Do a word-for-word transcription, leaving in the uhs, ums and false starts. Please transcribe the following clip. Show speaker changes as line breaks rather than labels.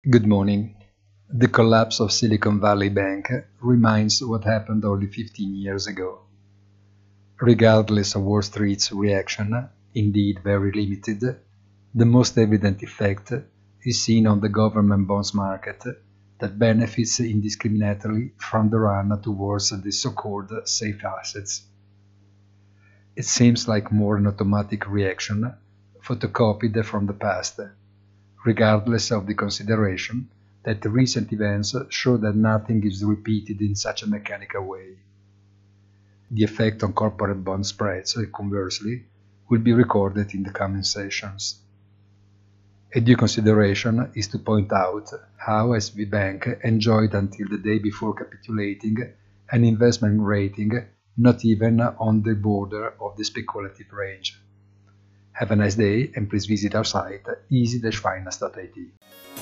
Good morning. The collapse of Silicon Valley Bank reminds what happened only fifteen years ago. Regardless of Wall Street's reaction, indeed very limited, the most evident effect is seen on the government bonds market that benefits indiscriminately from the run towards the so-called safe assets. It seems like more an automatic reaction photocopied from the past, regardless of the consideration that recent events show that nothing is repeated in such a mechanical way. The effect on corporate bond spreads, conversely, will be recorded in the coming sessions. A due consideration is to point out how S V B Bank enjoyed until the day before capitulating an investment rating not even on the border of the speculative range. Have a nice day and please visit our site easy dash finance dot I T.